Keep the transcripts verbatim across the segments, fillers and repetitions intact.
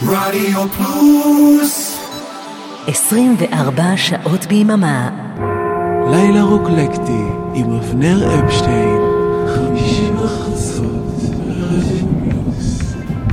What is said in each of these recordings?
רדיו פלוס עשרים וארבע שעות ביממה. לילה רוקלקטי עם אבנר אפשטיין, חמישי בחצות ברדיו פלוס.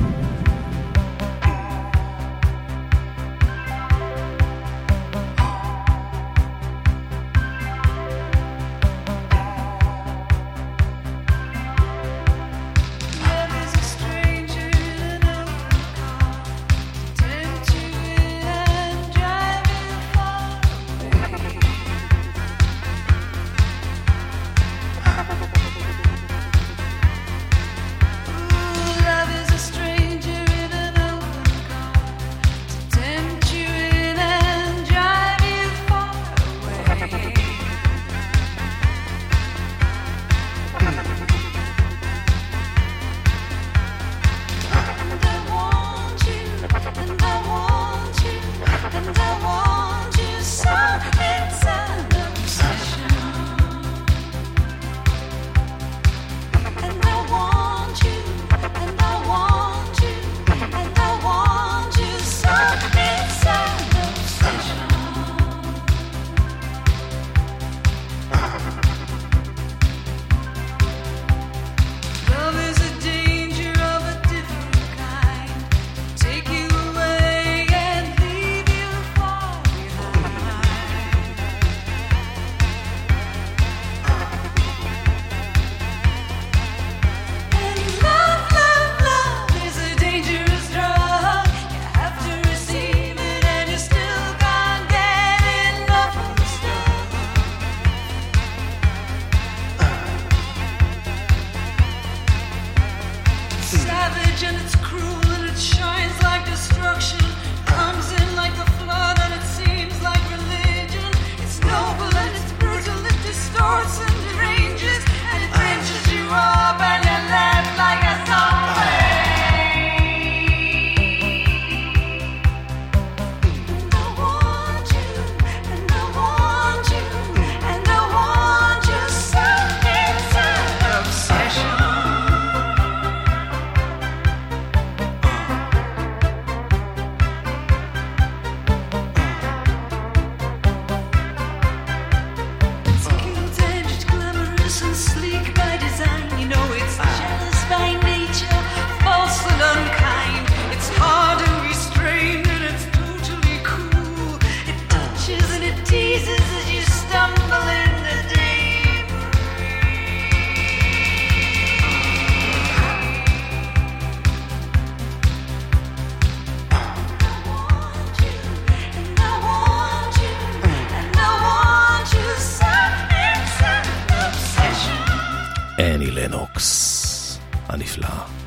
אני לנוקס הנפלא.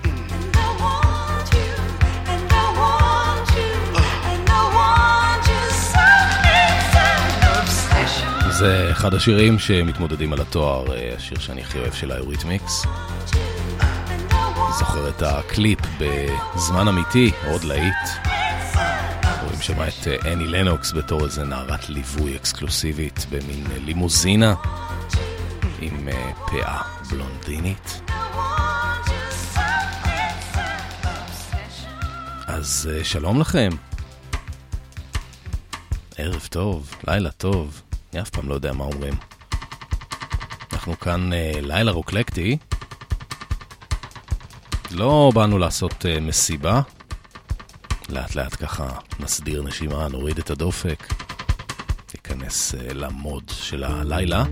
זה אחד השירים שמתמודדים על התואר, השיר שאני הכי אוהב של היוריתמיקס. זוכר את הקליפ בזמן אמיתי, עוד להיט. רואים שמה את אני לנוקס בתור איזה נערת ליווי אקסקלוסיבית במין לימוזינה עם פאה בלונדינית. אז שלום לכם, ערב טוב, לילה טוב, אני אף פעם לא יודע מה אומרים. אנחנו כאן לילה רוקלקטי, לא באנו לעשות מסיבה, לאט לאט ככה נסדיר נשימה, נוריד את הדופק, ניכנס למוד של הלילה.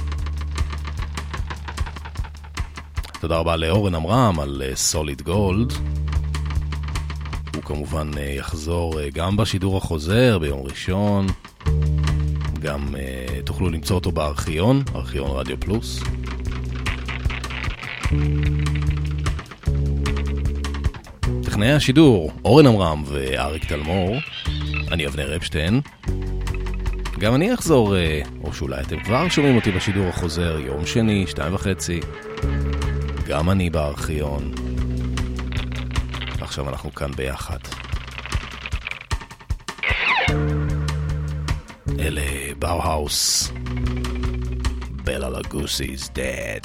תודה רבה לאורן אמרם על סוליד גולד. הוא כמובן יחזור גם בשידור החוזר ביום ראשון. גם uh, תוכלו למצוא אותו בארכיון, ארכיון רדיו פלוס. טכנאי השידור, אורן אמרם ואריק תלמור. אני אבנר אפשטיין. גם אני אחזור, uh, או שאולי אתם כבר שומעים אותי בשידור החוזר, יום שני, שתיים וחצי. גם אני בארכיון. עכשיו אנחנו כאן ביחד. אלה באוהאוס. Bela Lugosi is dead.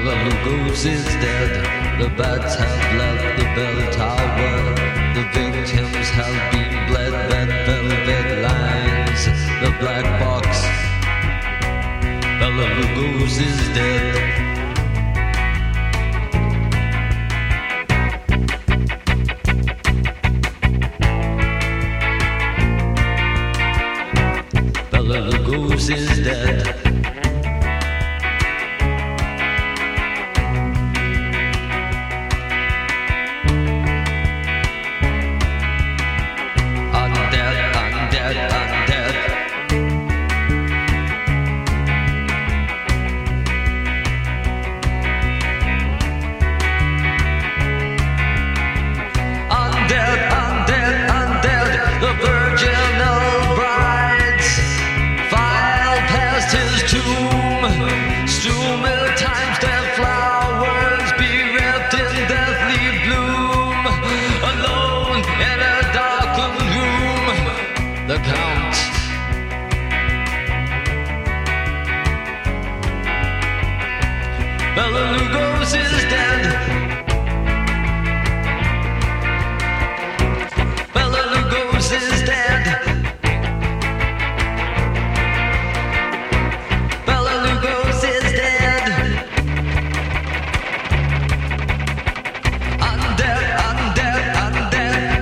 Bela Lugos is dead. The bats have left the bell tower. The victims have been bled. Red velvet lines. The black box. Bela Lugos is dead. Bela Lugos is dead. Bela Lugos is dead. Bela Lugos is dead. Bela Lugos is dead. Undead, undead, undead.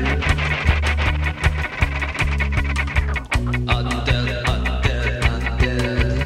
Undead, undead, undead.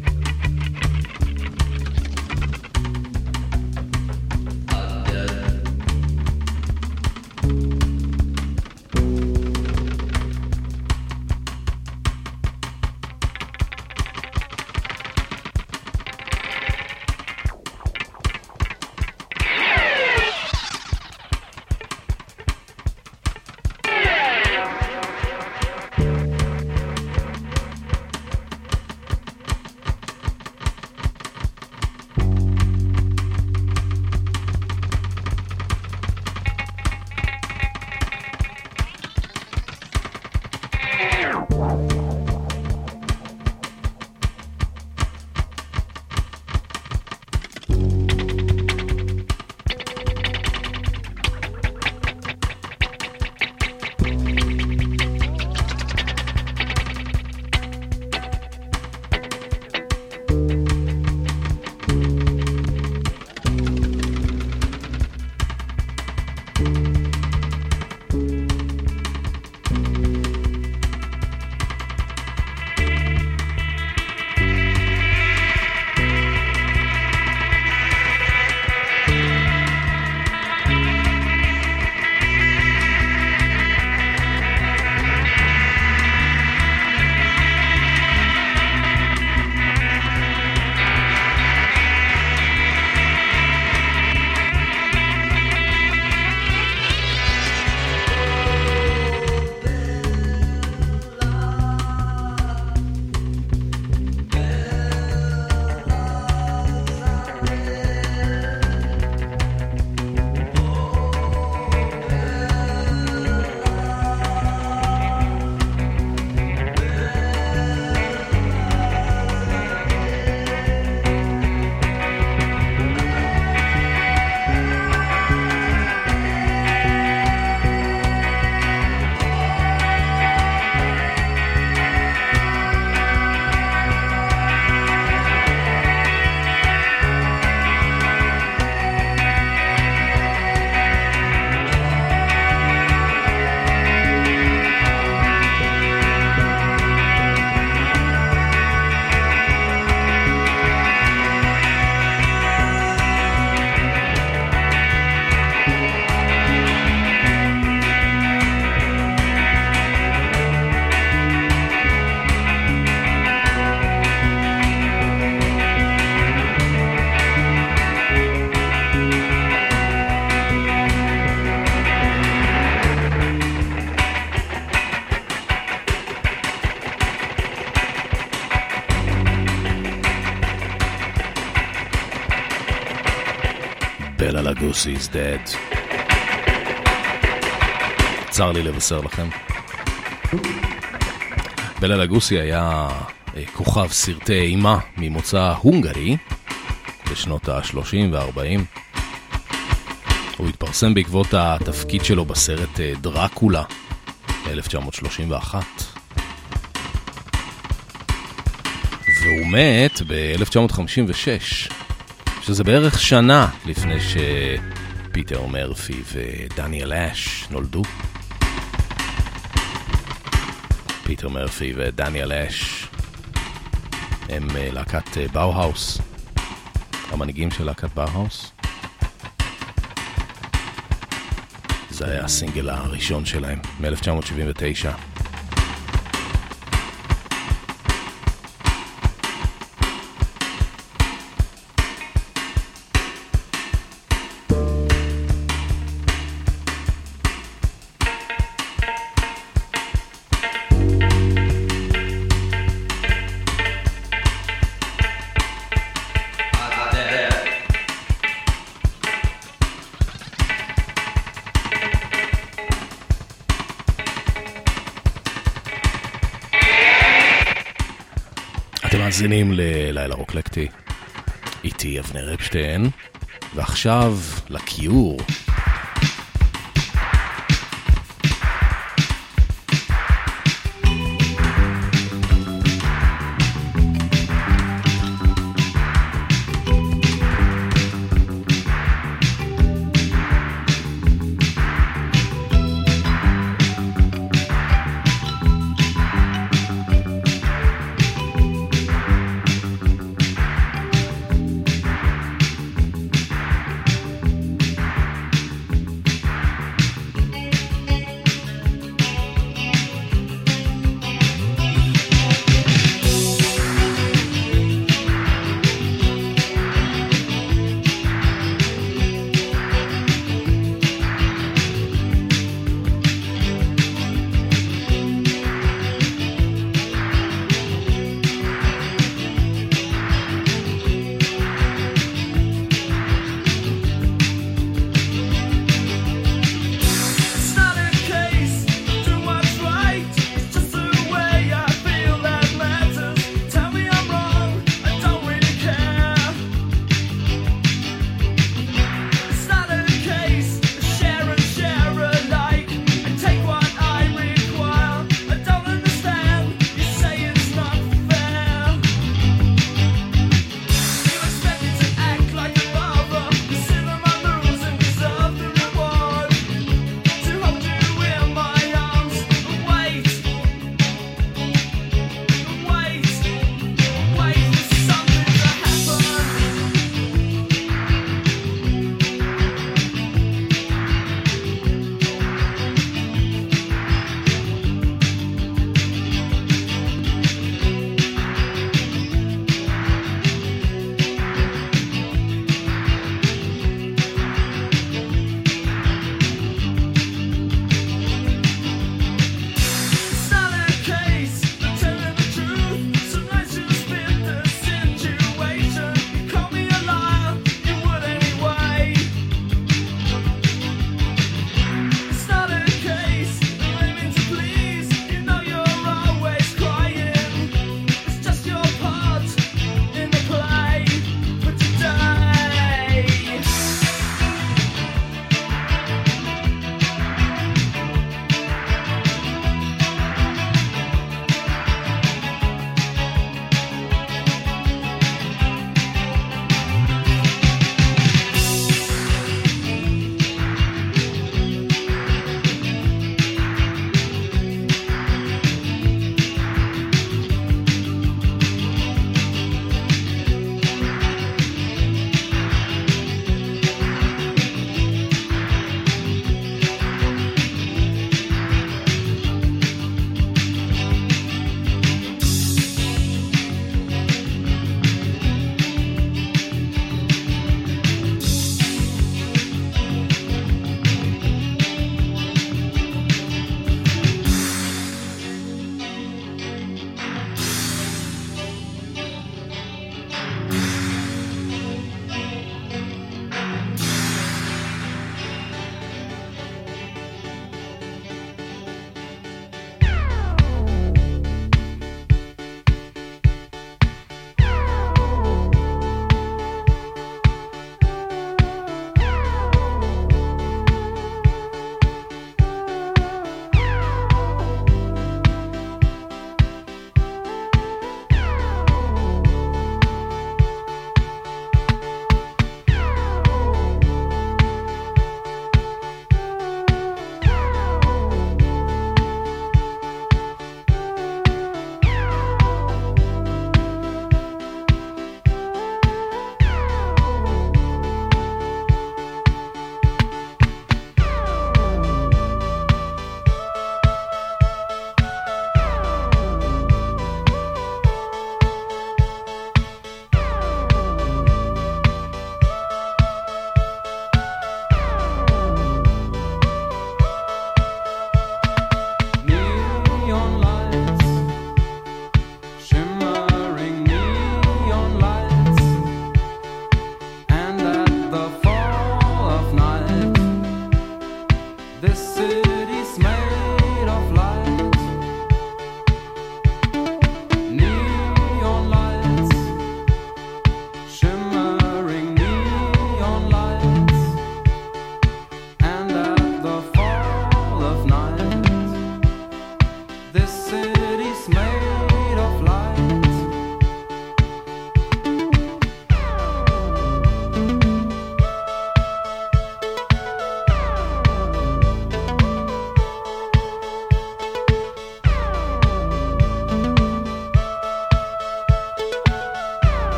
Bela Lugos is dead. צר לי לבשר לכם. בלה לוגוסי היה כוכב סרטי אימה ממוצא הונגרי, בשנות ה-שלושים וה-ארבעים. הוא התפרסם בעקבות התפקיד שלו בסרט דרקולה ב-אלף תשע מאות שלושים ואחת. והוא מת ב-אלף תשע מאות חמישים ושש, שזה בערך שנה לפני שפיטר מרפי ודניאל אש נולדו. פיטר מרפי ודניאל אש הם להקת באוהאוס, המנהיגים של להקת באוהאוס. זה היה הסינגל הראשון שלהם מ-אלף תשע מאות שבעים ותשע. מאזינים ללילה רוקלקטי, איתי אבנר אפשטיין, ועכשיו לקיור.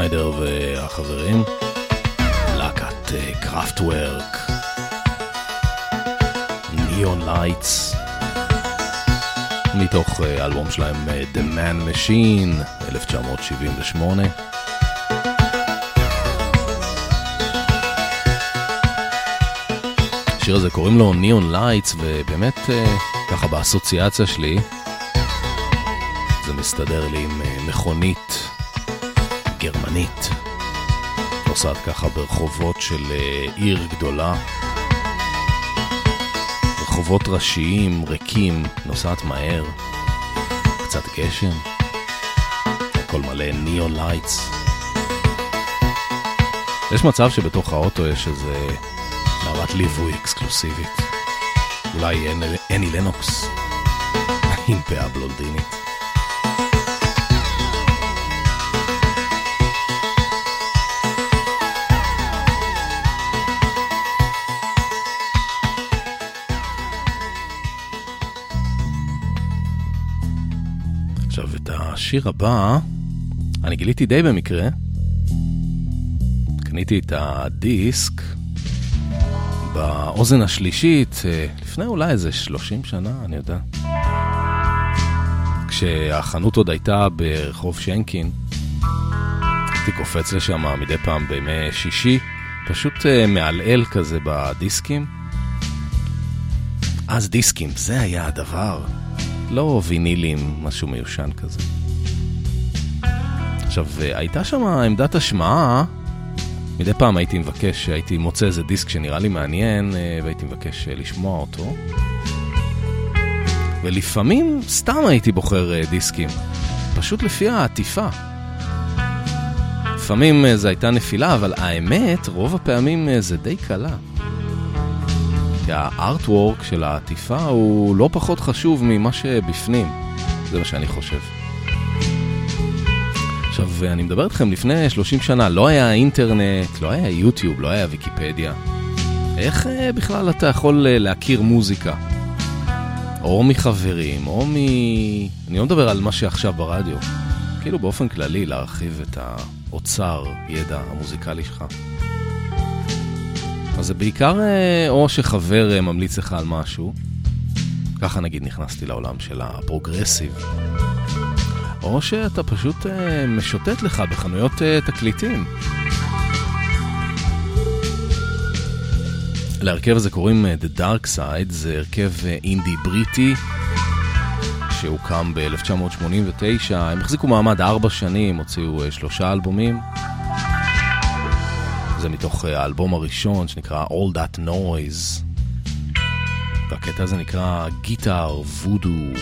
שניידר והחברים, להקת קראפטוורק, ניאון לייטס, מתוך אלבום שלהם The Man Machine אלף תשע מאות שבעים ושמונה. השיר הזה קוראים לו ניאון לייטס, ובאמת ככה באסוציאציה שלי זה מסתדר לי עם מכונית גרמנית נוסעת ככה ברחובות של עיר גדולה, רחובות ראשיים ריקים, נוסעת מהר, קצת גשם, הכל מלא ניאון לייטס. יש מצב שבתוך האוטו יש איזה נערת ליווי אקסקלוסיבית, אולי אני לנוקס עם פאה בלונדינית. עכשיו את השיר הבא אני גיליתי די במקרה, קניתי את הדיסק באוזן השלישית לפני אולי איזה שלושים שנה, אני יודע, כשהחנות עוד הייתה ברחוב שנקין. הייתי קופץ לשם מדי פעם בימי שישי, פשוט מעלעל כזה בדיסקים. אז דיסקים, זה היה הדבר, לא וינילים, משהו מיושן כזה. עכשיו, הייתה שם עמדת השמעה, מדי פעם הייתי מבקש, הייתי מוצא איזה דיסק שנראה לי מעניין, והייתי מבקש לשמוע אותו. ולפעמים סתם הייתי בוחר דיסקים, פשוט לפי העטיפה. לפעמים זה הייתה נפילה, אבל האמת, רוב הפעמים זה די קלה. כי הארטוורק של העטיפה הוא לא פחות חשוב ממה שבפנים. זה מה שאני חושב. עכשיו, אני מדבר איתכם לפני שלושים שנה, לא היה אינטרנט, לא היה יוטיוב, לא היה ויקיפדיה. איך בכלל אתה יכול להכיר מוזיקה? או מחברים, או מ... אני לא מדבר על מה שעכשיו ברדיו. כאילו באופן כללי להרחיב את האוצר, ידע המוזיקלי שלך. אז זה בעיקר או שחבר ממליץ לך על משהו, ככה נגיד נכנסתי לעולם של הפרוגרסיב, או שאתה פשוט משוטט לך בחנויות תקליטים. להרכב הזה קוראים The Dark Side, זה הרכב אינדי בריטי שהוקם ב-אלף תשע מאות שמונים ותשע, הם החזיקו מעמד ארבע שנים, הוציאו שלושה אלבומים. זה מתוך האלבום הראשון שנקרא All That Noise, והקטע הזה נקרא Guitar Voodoo.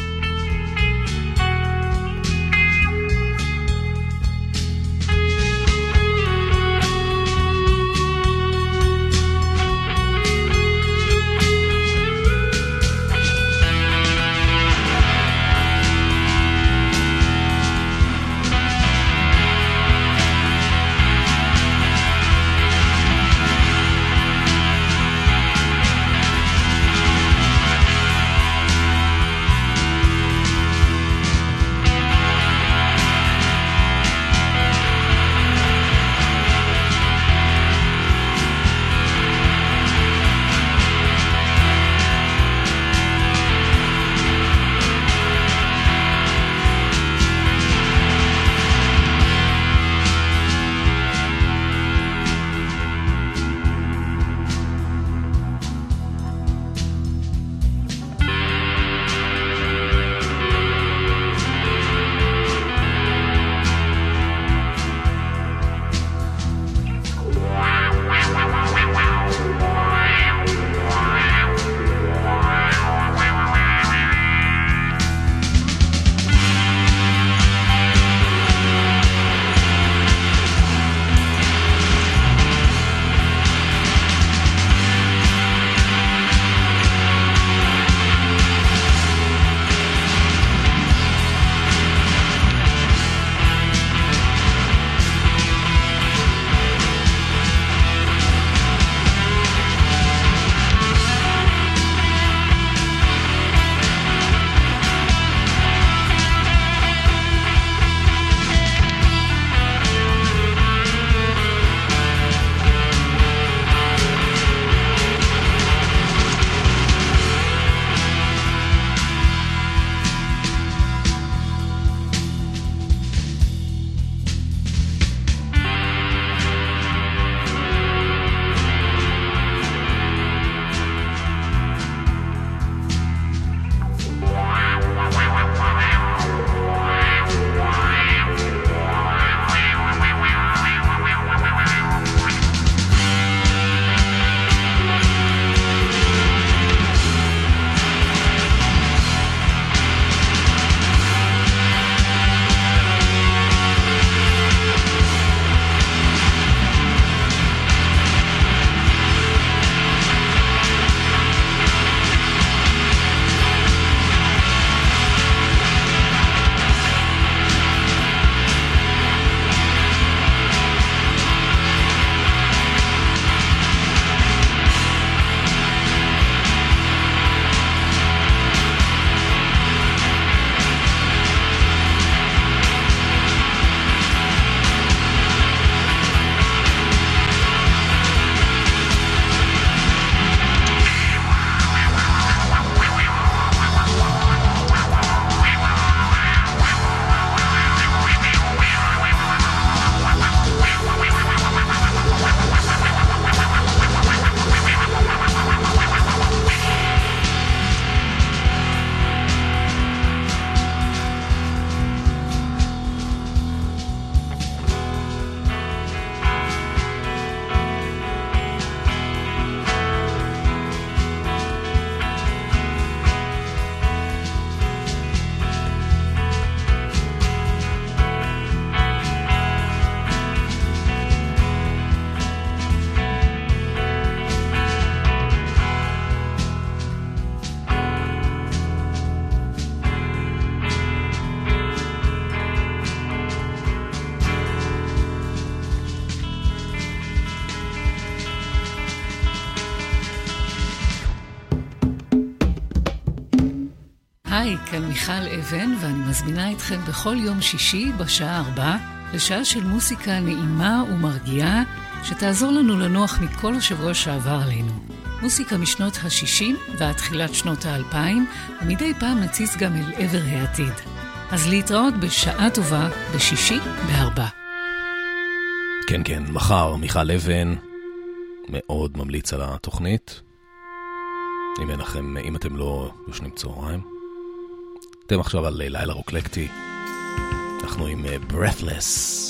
היי, כאן מיכל אבן, ואני מזמינה אתכם בכל יום שישי בשעה ארבע לשעה של מוסיקה נעימה ומרגיעה שתעזור לנו לנוח מכל השבוע שעבר עלינו. מוסיקה משנות ה-שישים ועד תחילת שנות ה-אלפיים, ומדי פעם נציץ גם אל עבר העתיד. אז להתראות בשעה טובה בשישי בארבע. כן, כן, מחר מיכל אבן, מאוד ממליץ על התוכנית. אם אין לכם, אם אתם לא יושנים צהריים. אתם עכשיו על לילה רוקלקטי. אנחנו עם Breathless.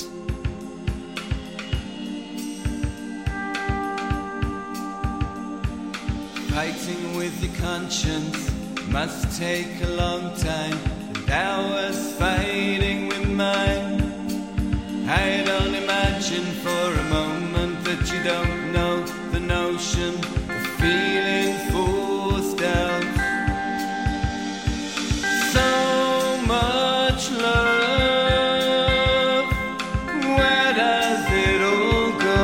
Fighting with your conscience must take a long time, and I was fighting with mine. I don't imagine for a moment that you don't know the notion of feeling forced out. So much love, where does it all go?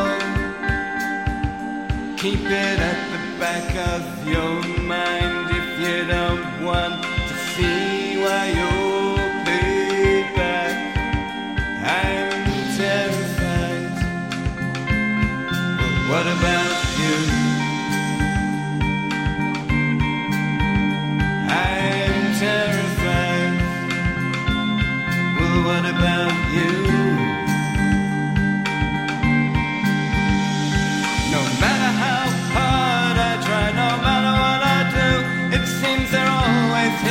Keep it at the back of your mind if you don't want to see why you're paid back. I'm terrified, but what about you? I'm terrified, well, what about you? No matter how hard I try, no matter what I do, it seems there always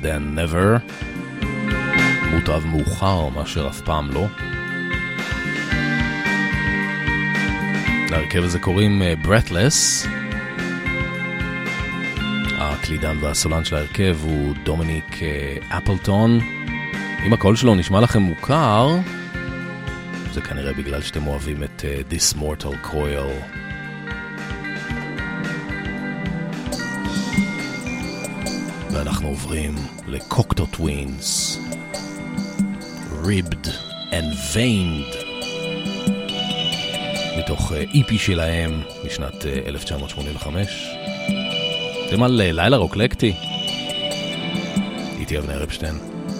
than never. מוטב מאוחר מאשר אף פעם לא. להרכב הזה קוראים Breathless. הקלידן והסולן של ההרכב הוא דומיניק אפלטון. אם הקול שלו נשמע לכם מוכר, זה כנראה בגלל שאתם אוהבים את uh, This Mortal Coil. ואנחנו עוברים לקוקטו טווינס, Ribbed and Veined, מתוך E P שלהם משנת uh, אלף תשע מאות שמונים וחמש. אתם על uh, לילה רוקלקטי, איתי אבנר אפשטיין.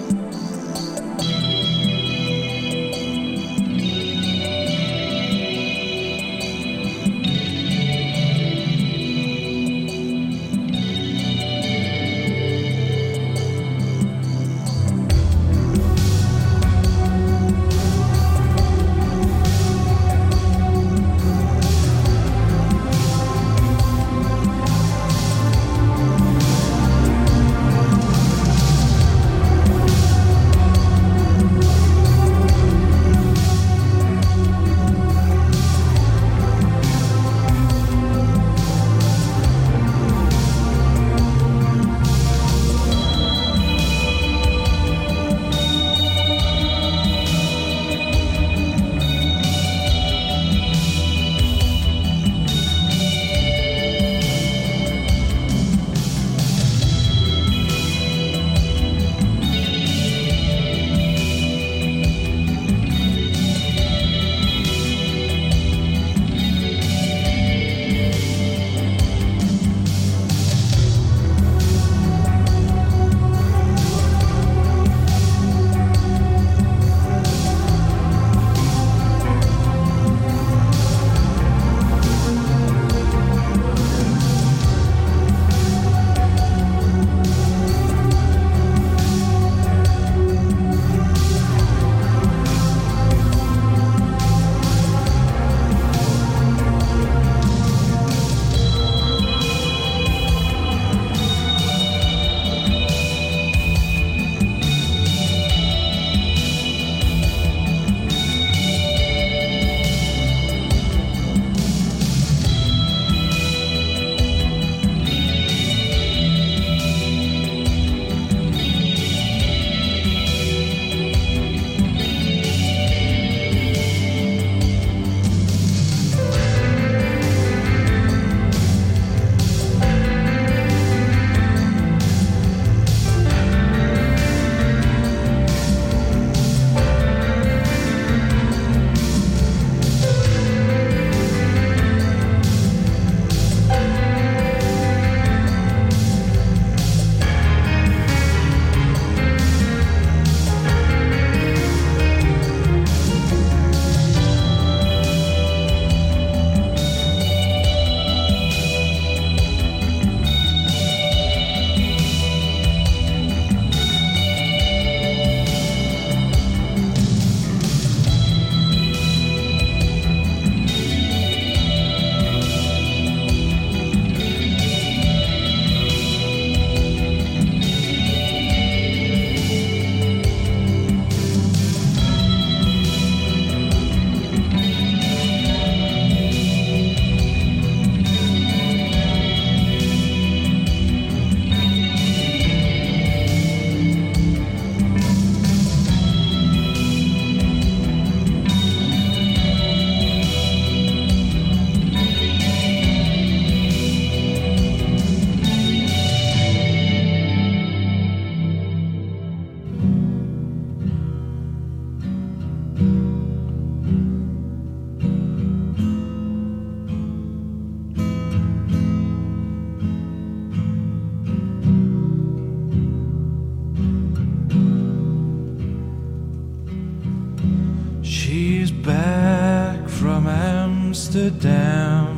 Amsterdam,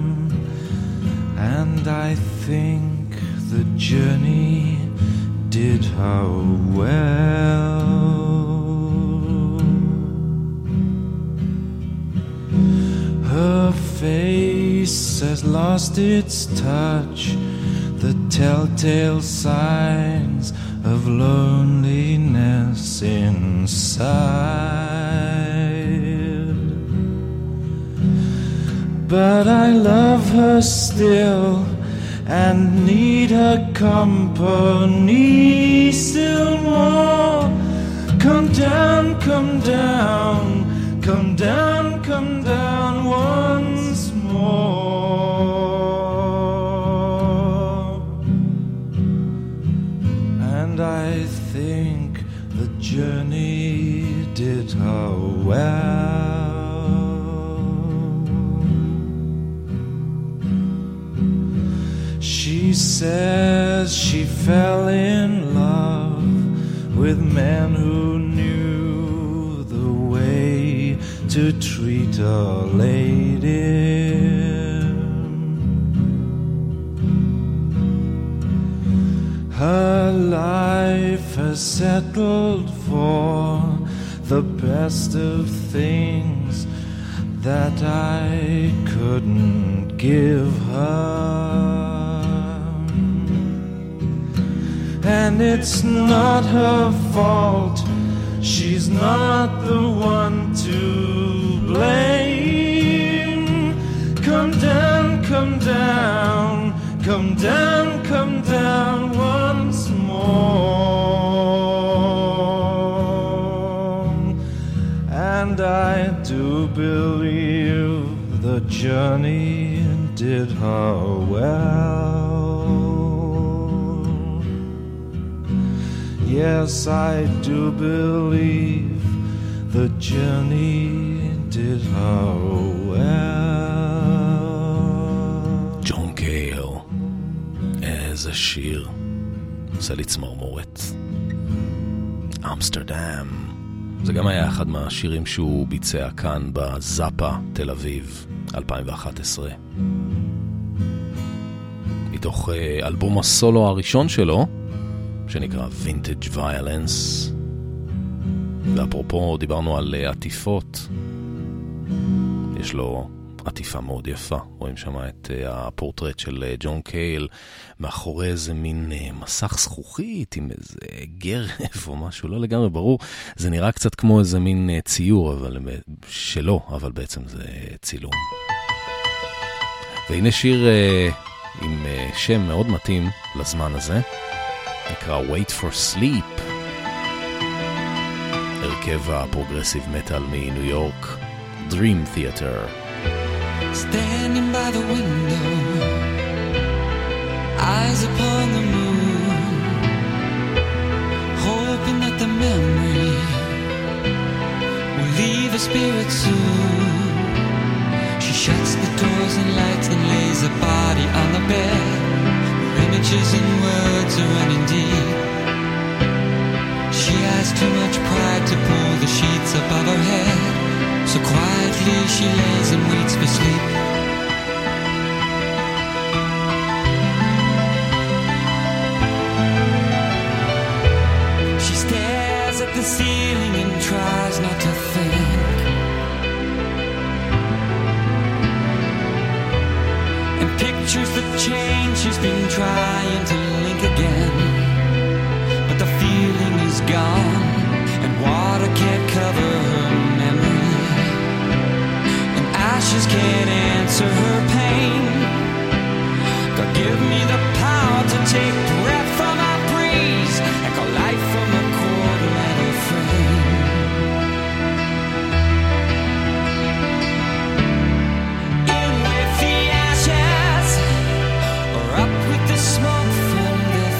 and I think the journey did her well. Her face has lost its touch, the telltale signs of loneliness inside. But I love her still and need her company still more. Come down, come down, come down, come down once more. And I think the journey did her well. She says she fell in love with men who knew the way to treat a lady. Her life has settled for the best of things that I couldn't give her. And it's not her fault, she's not the one to blame. Come down, come down, come down, come down once more. And I do believe the journey did her well. Yes, I do believe the journey did her well. ג'ון קייל, איזה שיר, עושה לי צמרמורת. אמסטרדם, זה גם היה אחד מהשירים שהוא ביצע כאן בזאפה תל אביב אלפיים ואחת עשרה. מתוך אלבום הסולו הראשון שלו, שנקרא Vintage Violence. ואפרופו דיברנו על עטיפות, יש לו עטיפה מאוד יפה, רואים שם את הפורטרט של ג'ון קייל מאחורי איזה מין מסך זכוכית עם איזה גרב או משהו, לא לגמרי ברור, זה נראה קצת כמו איזה מין ציור אבל שלא, אבל בעצם זה צילום. והנה שיר עם שם מאוד מתאים לזמן הזה, נקרא Wait for Sleep, הרכב הפרוגרסיב מטל מניו יורק, Dream Theater. Standing by the window, eyes upon the moon, hoping that the memory will leave her spirit soon. She shuts the doors and lights and lays her body on the bed, where images and words are running deep. She has too much pride to pull the sheets above her head, so quietly she lays and waits for sleep. She stares at the ceiling and tries not to think, and pictures the change she's been trying to link again. But the feeling is gone, and water can't cover her memory, and ashes can't answer her pain. God, give me the power to take breath from my breeze and call life from a cold metal frame. In with the ashes, or up with the smoke from their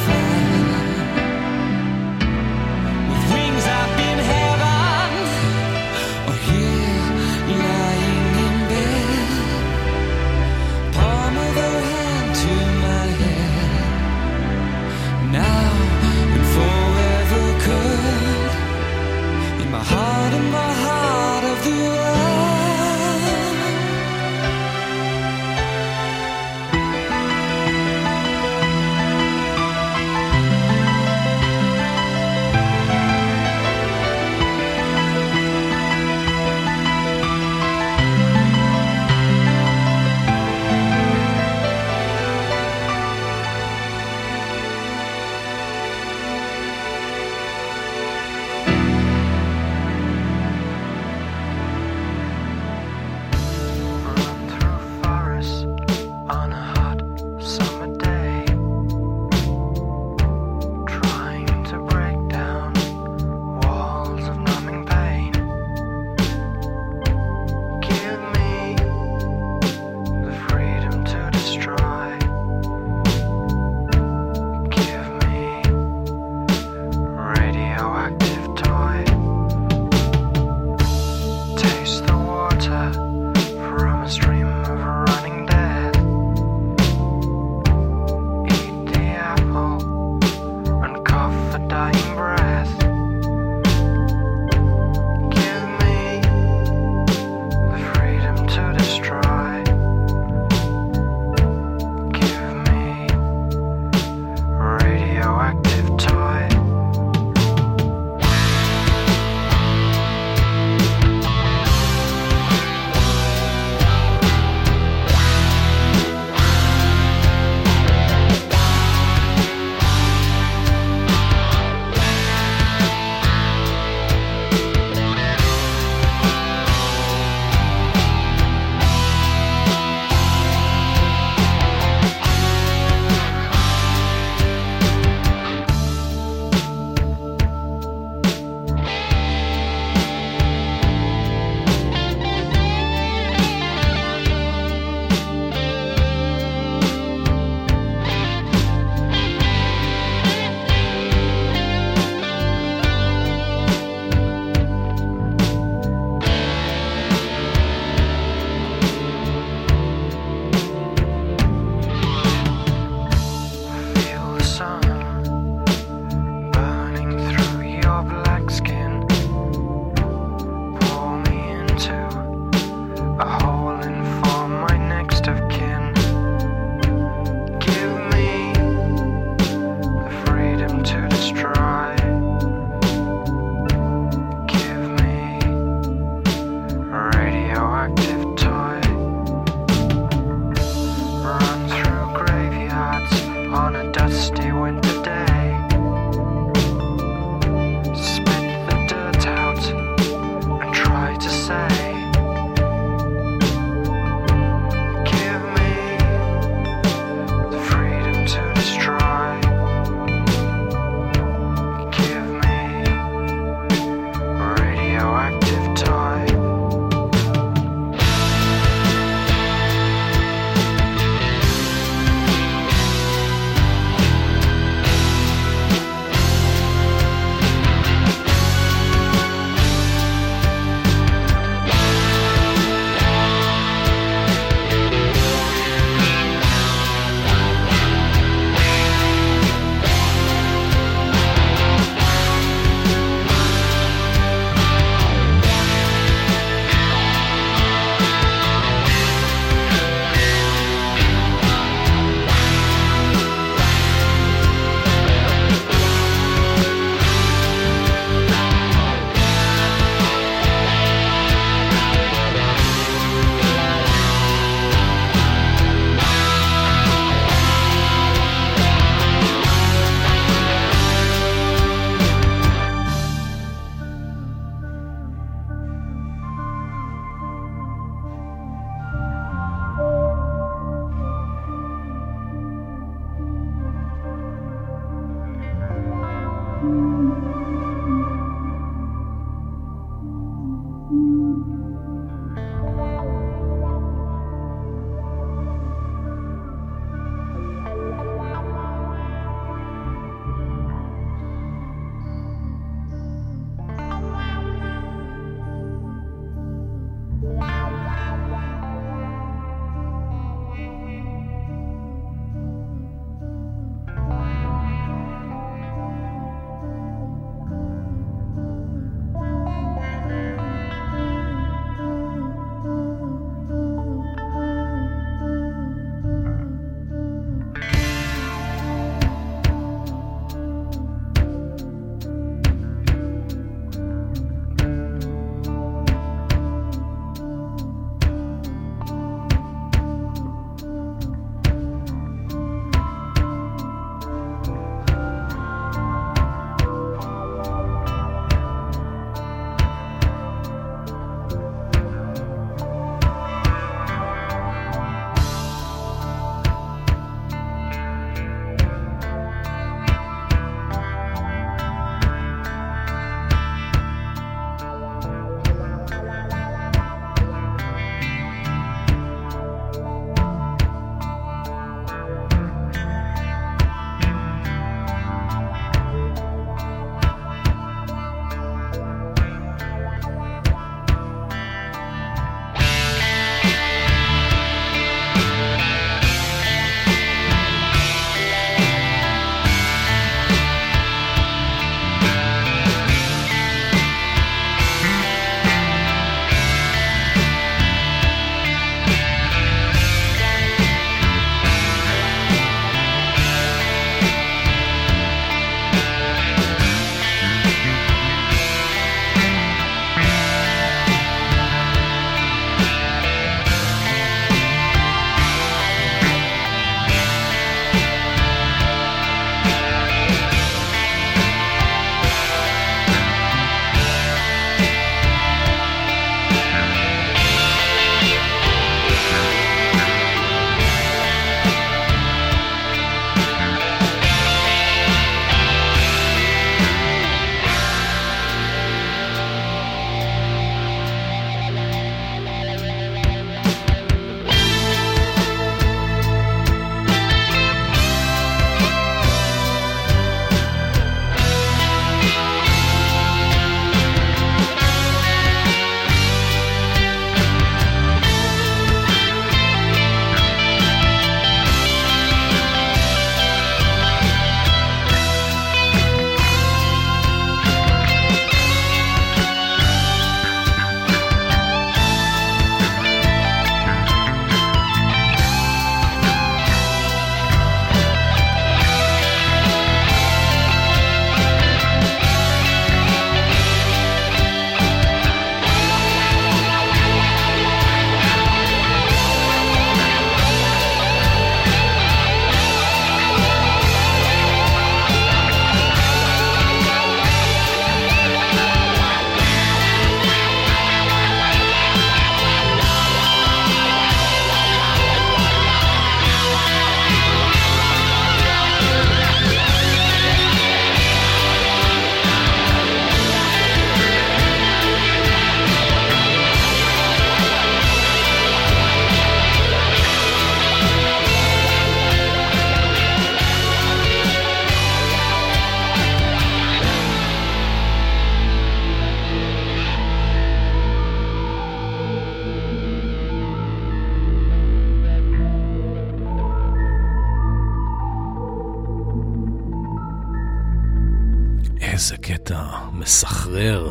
איזה קטע מסחרר.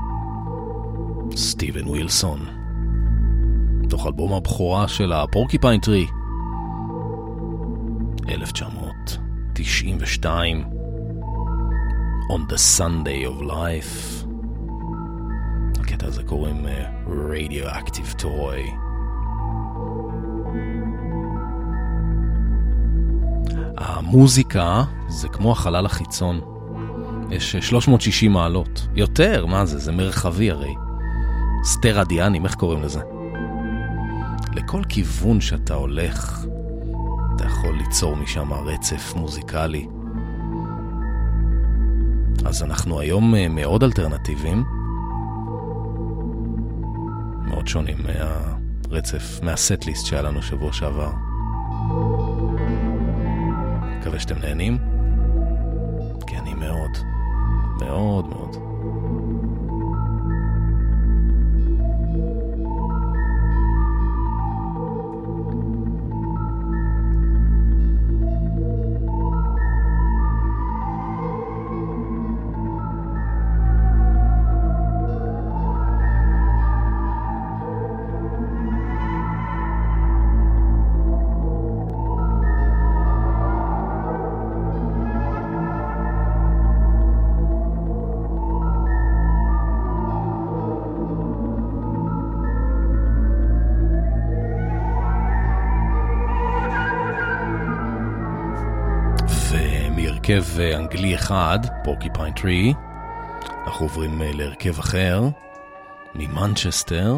סטיבן ווילסון, תוך אלבום הבכורה של הפורקיפיין טרי, אלף תשע מאות תשעים ושתיים, On the Sunday of Life. הקטע הזה קוראים uh, Radioactive Toy. המוזיקה זה כמו החלל החיצון, יש שלוש מאות ושישים מעלות, יותר, מה זה? זה מרחבי הרי, סטרדיאנים, איך קוראים לזה? לכל כיוון שאתה הולך אתה יכול ליצור משם רצף מוזיקלי. אז אנחנו היום מאוד אלטרנטיביים, מאוד שונים מהרצף, מהסט-ליסט שהיה לנו שבוע שעבר. מקווה שאתם נהנים, כי אני מאוד מאוד מאוד. הרכב אנגלי אחד, פורקיפיין טרי, אנחנו עוברים להרכב אחר, ממנצ'סטר,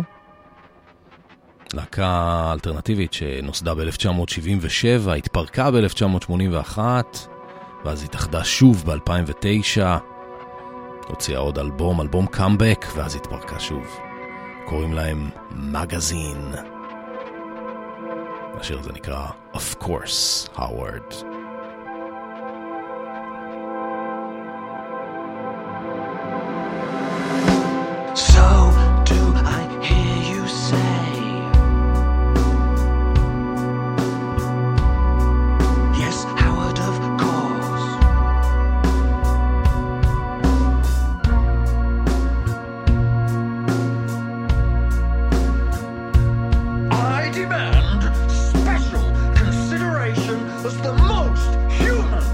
להקה אלטרנטיבית שנוסדה ב-אלף תשע מאות שבעים ושבע, התפרקה ב-אלף תשע מאות שמונים ואחת, ואז התאחדה שוב ב-אלפיים ותשע, הוציאה עוד אלבום, אלבום קאמבק, ואז התפרקה שוב. קוראים להם מגזין. השיר הזה נקרא Of Course, Howard. So do I hear you say, yes, Howard, of course. I demand special consideration as the most human.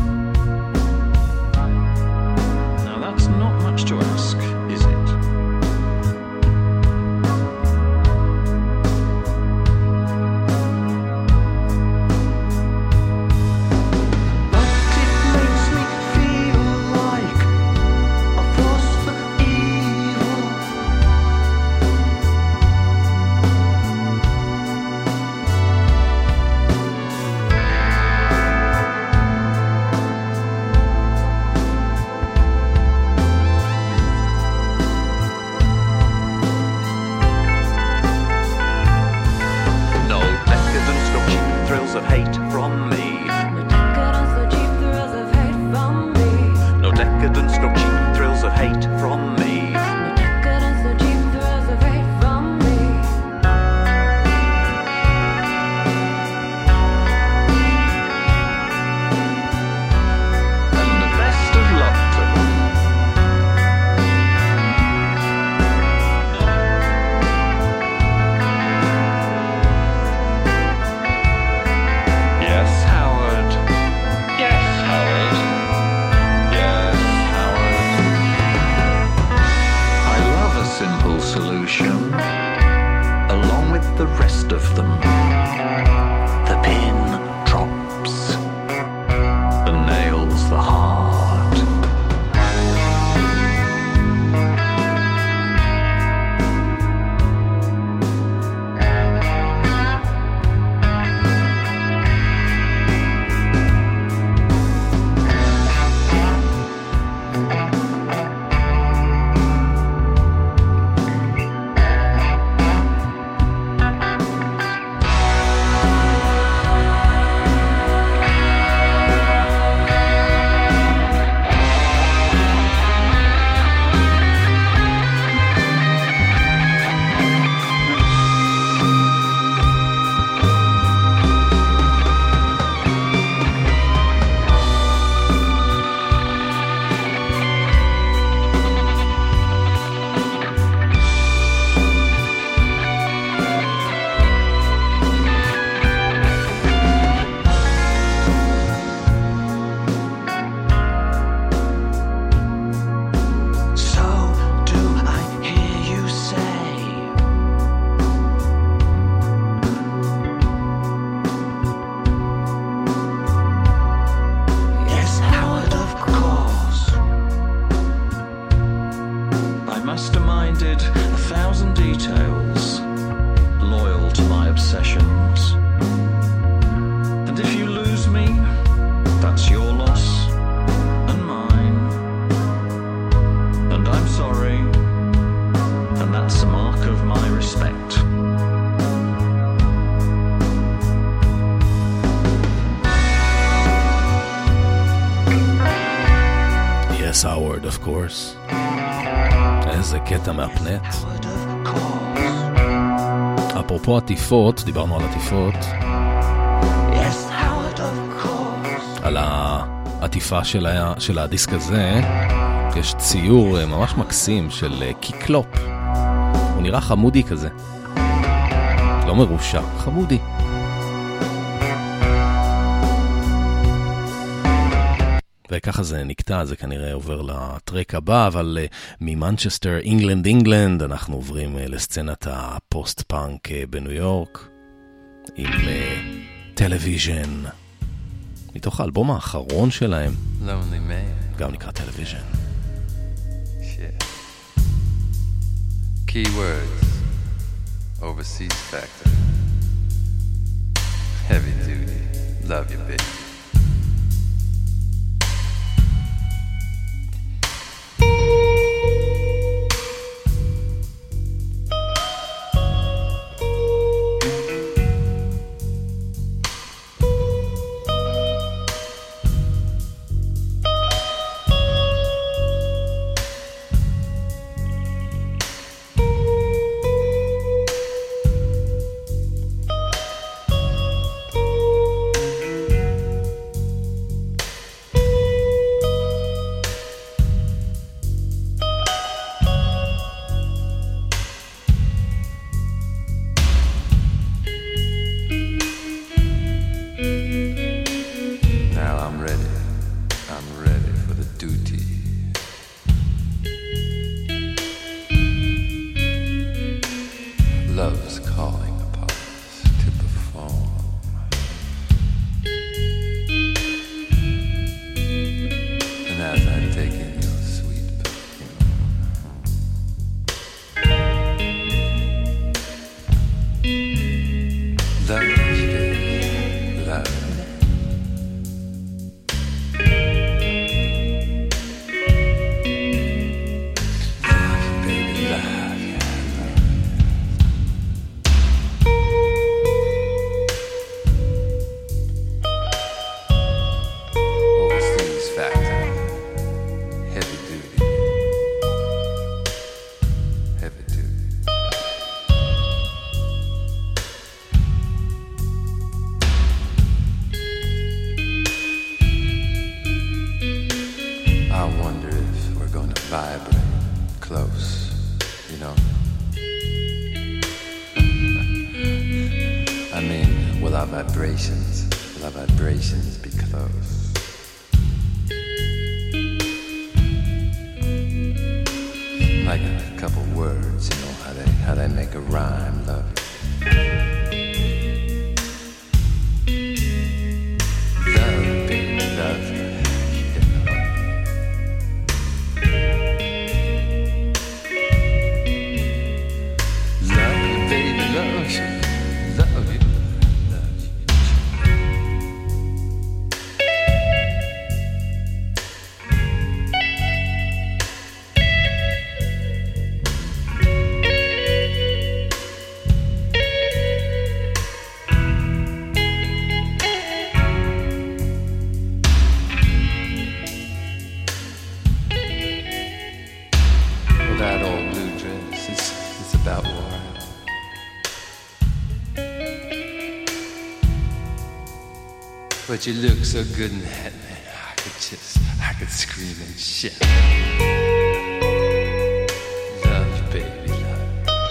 Now that's not much to ask, is it? masterminded a thousand details, loyal to my obsessions. And if you lose me, that's your loss and mine. And I'm sorry, and that's a mark of my respect. Yes, Howard, of course. איזה קטע מהפנט. אפרופו עטיפות, דיברנו על עטיפות. Yes, Howard, of course. על העטיפה של, ה... של הדיסק הזה, יש ציור ממש מקסים של קיקלופ. הוא נראה חמודי כזה. לא מרושע, חמודי. וככה זה נקטע, זה כנראה עובר לטרק הבא, אבל uh, ממנצ'סטר, אינגלנד, אינגלנד, אנחנו עוברים uh, לסצנת הפוסט-פאנק uh, בניו יורק, עם טלוויז'ן, uh, מתוך האלבום האחרון שלהם, Lonely Man. גם נקרא טלוויז'ן. Shit. Keywords, overseas factor, heavy duty, love you baby. But you look so good in that, man. I could just, I could scream and shout. Love you, baby, love.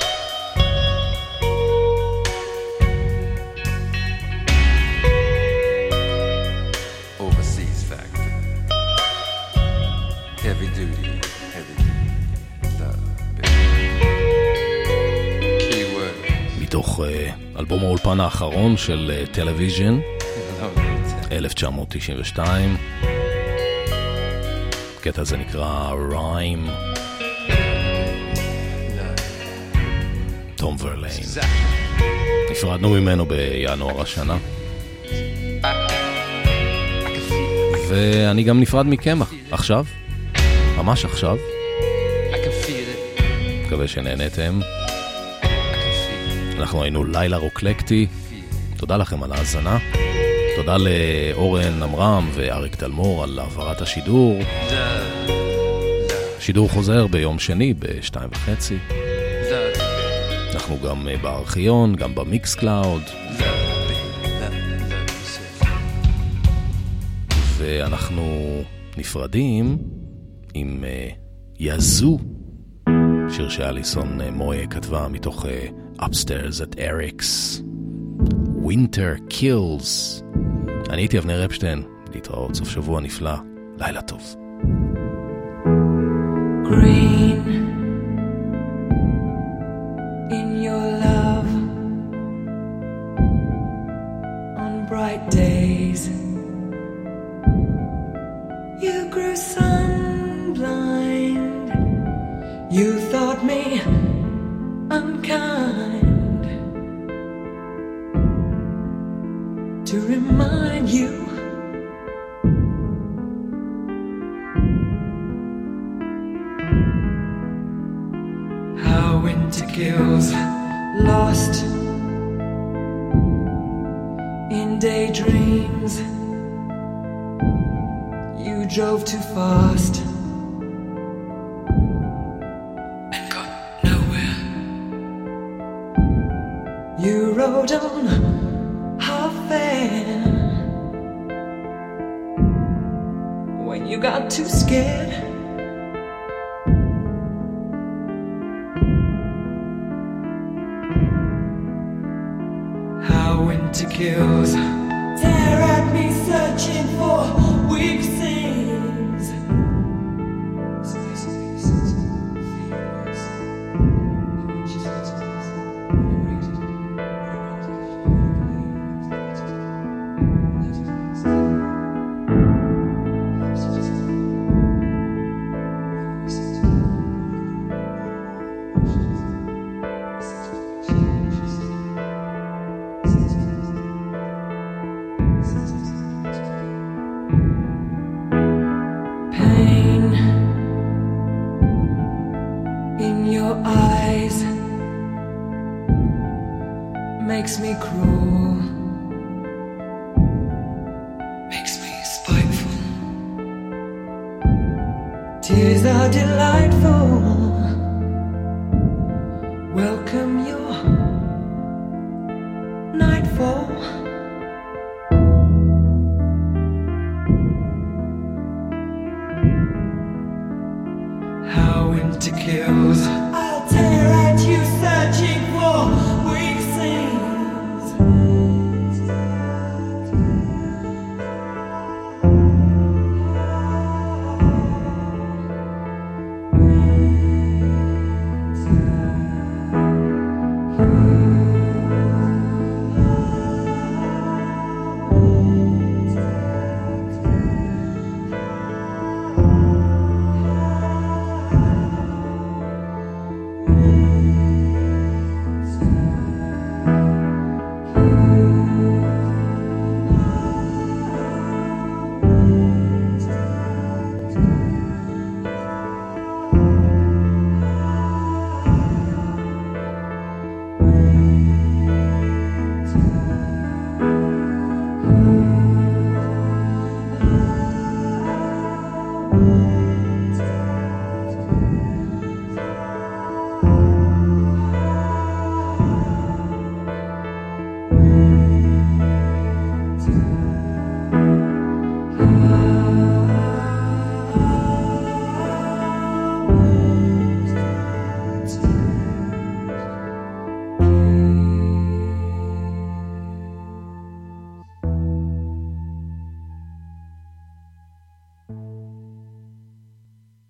Overseas factor. Heavy duty, heavy duty. Love, baby. Keyword. מתוך אלבום האולפן האחרון של טלוויז'ן. אלף תשע מאות תשעים ושתיים. הקטע הזה נקרא ריים. תום ורליין. נפרדנו ממנו בינואר השנה. ואני גם נפרד מקמח, עכשיו, ממש עכשיו. מקווה שנהנתם. אנחנו היינו לילה רוקלקטי. תודה לכם על ההאזנה. תודה לאורן אמרם ואריק תלמור על העברת השידור. שידור חוזר ביום שני בשתיים וחצי. אנחנו גם בארכיון, גם במיקס קלאוד. ואנחנו נפרדים עם יזו, שיר שאליסון מויה כתבה מתוך Upstairs at Eric's. Winter Kills. אני הייתי אבנר אפשטיין, להתראות, סוף שבוע נפלא, לילה טוב. Green in your love on bright days you grew sun-blind, you thought me unkind to remind you how winter kills, lost in daydreams. You drove too fast and got nowhere. You rode on half-fair when you got too scared. How winter kills, tear at me searching for weak things. Makes me cruel, makes me spiteful. Tears are delightful. Welcome your nightfall. How winter kills, I'll tear at you searching for weak things. Mm-hmm.